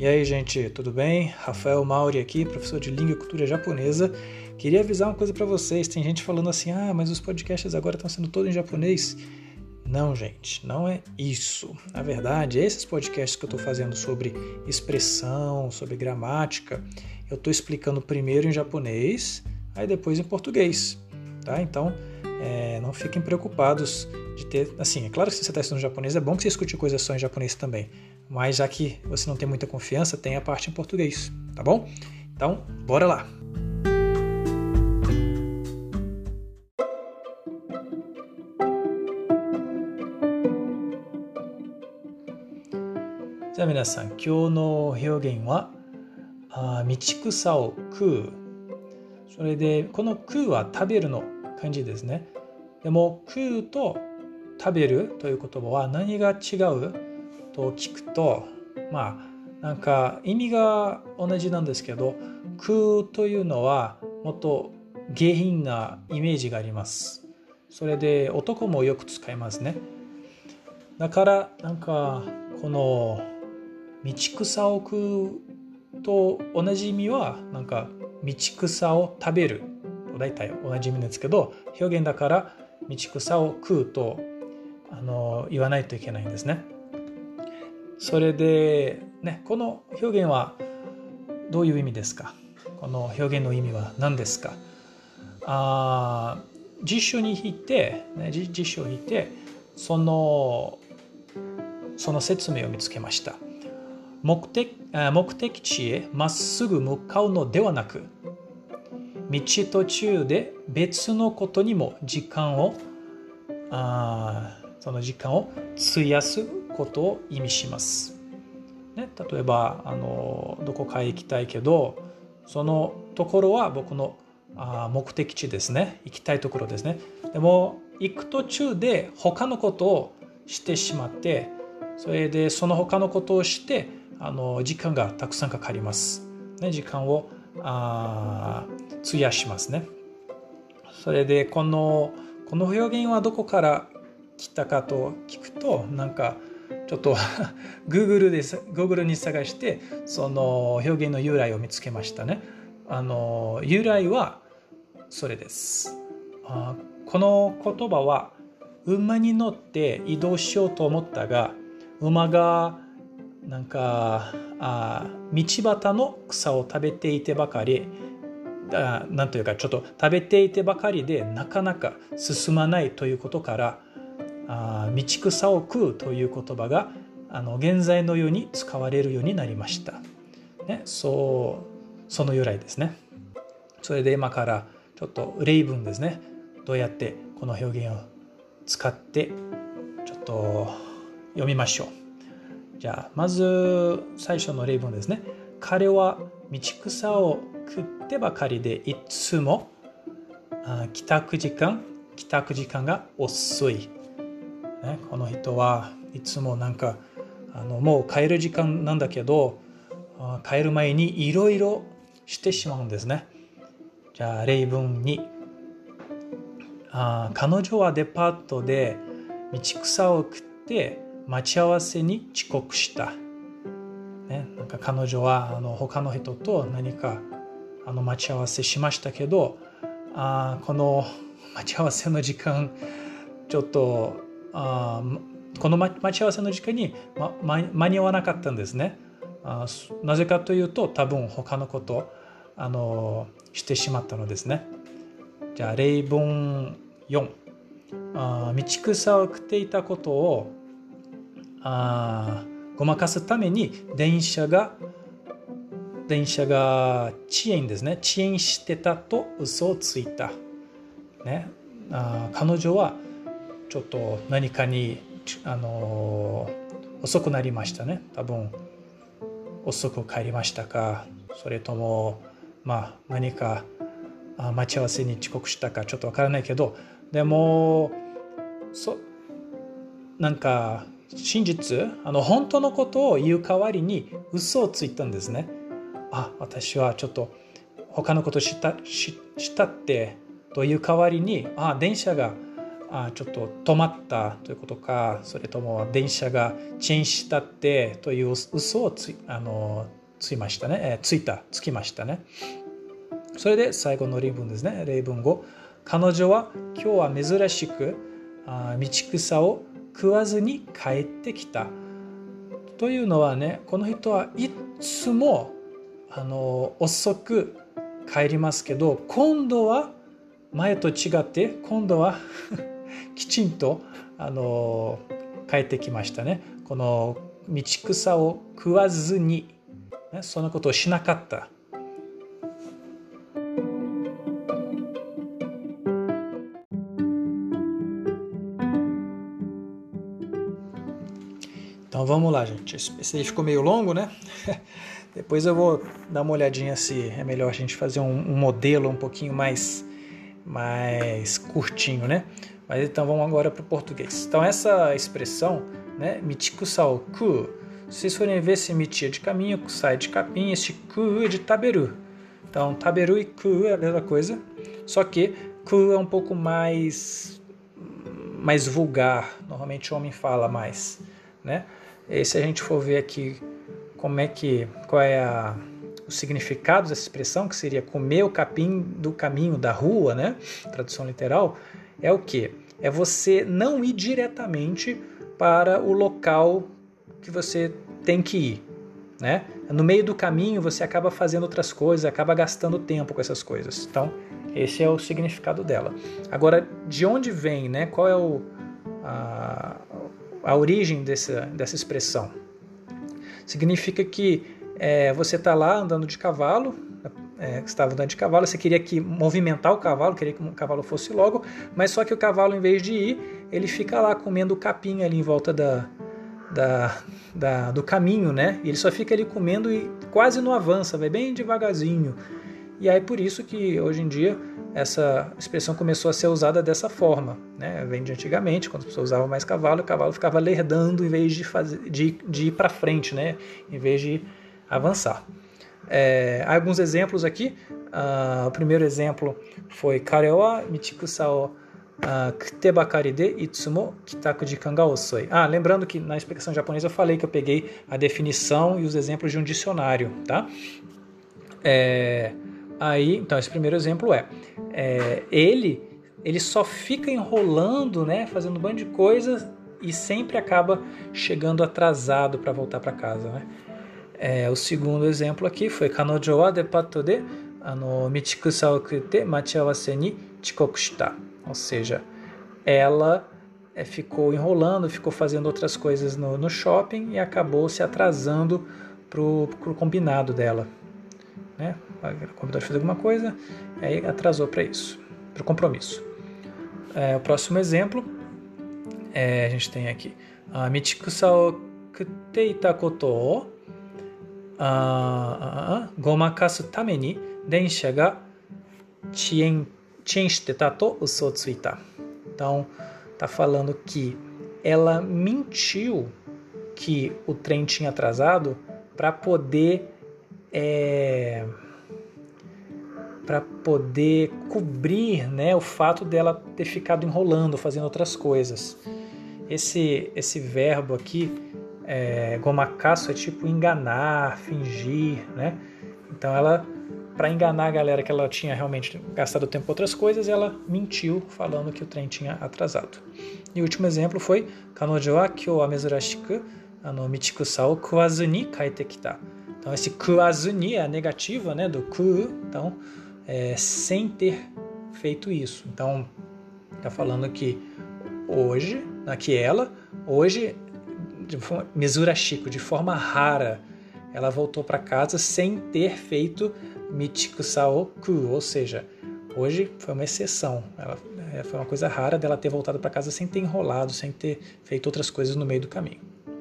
E aí, gente, tudo bem? Rafael Mauri aqui, professor de Língua e Cultura Japonesa. Queria avisar uma coisa para vocês. Tem gente falando assim, mas os podcasts agora estão sendo todos em japonês. Não, gente, não é isso. Na verdade, esses podcasts que eu estou fazendo sobre expressão, sobre gramática, eu estou explicando primeiro em japonês, aí depois em português, tá? Então, não fiquem preocupados de ter... Assim, é claro que se você está estudando japonês, é bom que você escute coisas só em japonês também. Mas já que você não tem muita confiança, tem a parte em português, tá bom? Então, bora lá!じゃあ皆さん、今日の表現は道草を食う。それでこの食うは食べるの漢字ですね。でも食うと食べるという言葉は何が違うと聞くと、なんか意味が同じなんですけど、食うというのはもっと下品なイメージがあります。それで男もよく使いますね。だからなんかこの道草を食うと同じ意味はなんか道草を食べると大体同じ意味ですけど、表現だから道草を食うと言わないといけないんですね。それでね、この表現はどういう意味ですか？この表現の意味は何ですか？辞書に引いて、辞書を引いてその説明を見つけました。目的地へまっすぐ向かうのではなく、道途中で別のことにもその時間を費やすことを意味します。ね、例えばどこかへ行きたいけど、そのところは僕の目的地ですね。行きたいところですね。でも行く途中で他のことをしてしまって、それでその他のことをして時間がたくさんかかります。ね、時間を費やしますね。それでこの表現はどこから来たかと聞くと、なんかちょっとGoogle に探してその表現の由来を見つけましたね。由来はそれです。この言葉は馬に乗って移動しようと思ったが、馬がなんか道端の草を食べていてばかり、なんというかちょっと食べていてばかりでなかなか進まないということから、道草を食うという言葉が現在のように使われるようになりました。ね、その由来ですね。それで今からちょっと例文ですね。どうやってこの表現を使ってちょっと読みましょう。じゃあまず最初の例文ですね。彼は道草を食ってばかりでいつも帰宅時間が遅い。ね、この人はいつもなんかもう帰る時間なんだけど、帰る前にいろいろしてしまうんですね。じゃあ例文2、彼女はデパートで道草を食って待ち合わせに遅刻した。ね、なんか彼女は他の人と何か待ち合わせしましたけど、この待ち合わせの時間ちょっとこの待ち合わせの時間に、間に合わなかったんですね。なぜかというと多分他のことをしてしまったのですね。じゃあ例文4、道草を食っていたことをごまかすために電車が遅延ですね。遅延してたと嘘をついた。ね、彼女はちょっと何かに遅くなりましたね。多分遅く帰りましたか、それとも何か待ち合わせに遅刻したかちょっとわからないけど、でもなんか真実本当のことを言う代わりに嘘をついたんですね。私はちょっと他のことしたってという代わりに電車がちょっと止まったということか、それとも電車が遅延したってという嘘をつきましたね。つきましたね。それで最後の例文ですね。例文5。彼女は今日は珍しく道草を食わずに帰ってきた。というのはね、この人はいつも遅く帰りますけど、今度は前と違って今度はきちんと帰ってきましたね。この道草を食わずに、ね、そのことをしなかった。Então vamos lá, gente. Esse aí ficou meio longo, né? Depois eu vou dar uma olhadinha se é melhor a gente fazer um modelo um pouquinho mais curtinho, né? Mas então vamos agora para o português. Então essa expressão, né? Michikusao ku. Se vocês forem ver, esse michi é de caminho, kusai de capim, esse ku é de taberu. Então taberu e ku é a mesma coisa, só que ku é um pouco mais vulgar. Normalmente o homem fala mais, né? E se a gente for ver aqui qual é o significado dessa expressão, que seria comer o capim do caminho da rua, né? Tradução literal, é o quê? É você não ir diretamente para o local que você tem que ir, né? No meio do caminho você acaba fazendo outras coisas, acaba gastando tempo com essas coisas. Então, esse é o significado dela. Agora, de onde vem, né? Qual é a origem dessa expressão? Significa que você está lá andando de cavalo, você estava andando de cavalo, você queria movimentar o cavalo, queria que o cavalo fosse logo, mas só que o cavalo, em vez de ir, ele fica lá comendo o capim ali em volta do caminho, né? E ele só fica ali comendo e quase não avança, vai bem devagarzinho. E aí por isso que hoje em dia essa expressão começou a ser usada dessa forma, né? Vem de antigamente, quando as pessoas usavam mais cavalo, o cavalo ficava lerdando em vez de ir para frente, né? Em vez de avançar. Há alguns exemplos aqui. O primeiro exemplo foi Kare wa michikusa o kute bakari de itsumo kitaku jikan ga osoi. Lembrando que na explicação japonesa eu falei que eu peguei a definição e os exemplos de um dicionário, tá? Então esse primeiro exemplo ele só fica enrolando, né, fazendo um bando de coisas e sempre acaba chegando atrasado para voltar para casa, né? O segundo exemplo aqui foi Kanojo wa depato de michikusa o kute machiawase ni chikoku shita. Ou seja, ela ficou enrolando, ficou fazendo outras coisas no shopping e acabou se atrasando pro combinado dela, né? Combinou de fazer alguma coisa, aí atrasou para isso, para o compromisso. O próximo exemplo, a gente tem aqui michikusa o kute ita koto o gomakasu tame ni densha ga chien shiteta to uso o tsuita. Então, tá falando que ela mentiu que o trem tinha atrasado para poder cobrir, né, o fato dela ter ficado enrolando, fazendo outras coisas. Esse verbo aqui, gomakasu, é tipo enganar, fingir, né? Então ela, para enganar a galera que ela tinha realmente gastado tempo com outras coisas, ela mentiu falando que o trem tinha atrasado. E o último exemplo foi Kanojo wa kyou wa mezurashiku michikusa o kuwazu ni kaete kita. Então esse kuwazu ni é a negativa, né, do ku, então sem ter feito isso. Então está falando que hoje, de forma mezurashiku, de forma rara, ela voltou para casa sem ter feito michikusa o ku, ou seja, hoje foi uma exceção. Foi uma coisa rara dela ter voltado para casa sem ter enrolado, sem ter feito outras coisas no meio do caminho.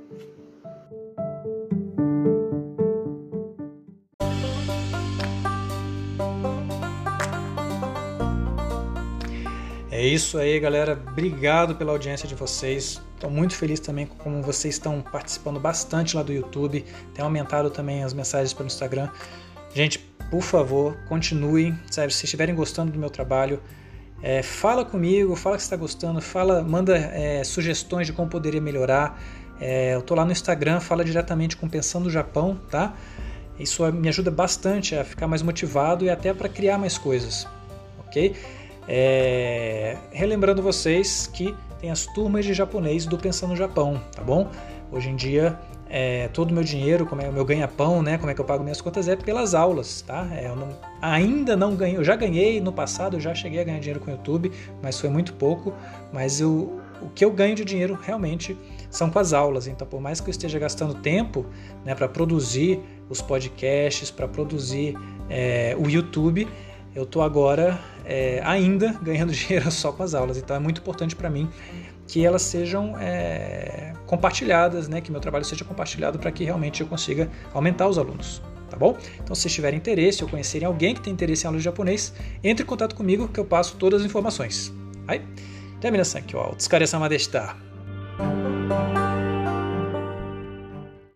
É isso aí, galera. Obrigado pela audiência de vocês. Estou muito feliz também com como vocês estão participando bastante lá do YouTube. Tem aumentado também as mensagens pelo Instagram. Gente, por favor, continuem. Sério, se estiverem gostando do meu trabalho, Fala comigo, fala que você está gostando, manda sugestões de como poderia melhorar. Eu estou lá no Instagram, fala diretamente com Pensando Japão, tá? Isso me ajuda bastante a ficar mais motivado e até para criar mais coisas, ok? Relembrando vocês que tem as turmas de japonês do Pensando Japão, tá bom? Hoje em dia, todo o meu dinheiro, como é o meu ganha-pão, né? Como é que eu pago minhas contas, é pelas aulas, tá? Ainda não ganhei, eu já ganhei no passado, eu já cheguei a ganhar dinheiro com o YouTube, mas foi muito pouco, mas o que eu ganho de dinheiro realmente são com as aulas. Então, por mais que eu esteja gastando tempo, né, para produzir os podcasts, para produzir o YouTube, eu estou agora ainda ganhando dinheiro só com as aulas. Então é muito importante para mim que elas sejam compartilhadas, né, que meu trabalho seja compartilhado para que realmente eu consiga aumentar os alunos. Tá bom? Então, se tiverem interesse ou conhecerem alguém que tem interesse em aula de japonês, entre em contato comigo que eu passo todas as informações. Aí, termina-san aqui, ó. O Tsukaresama deshita.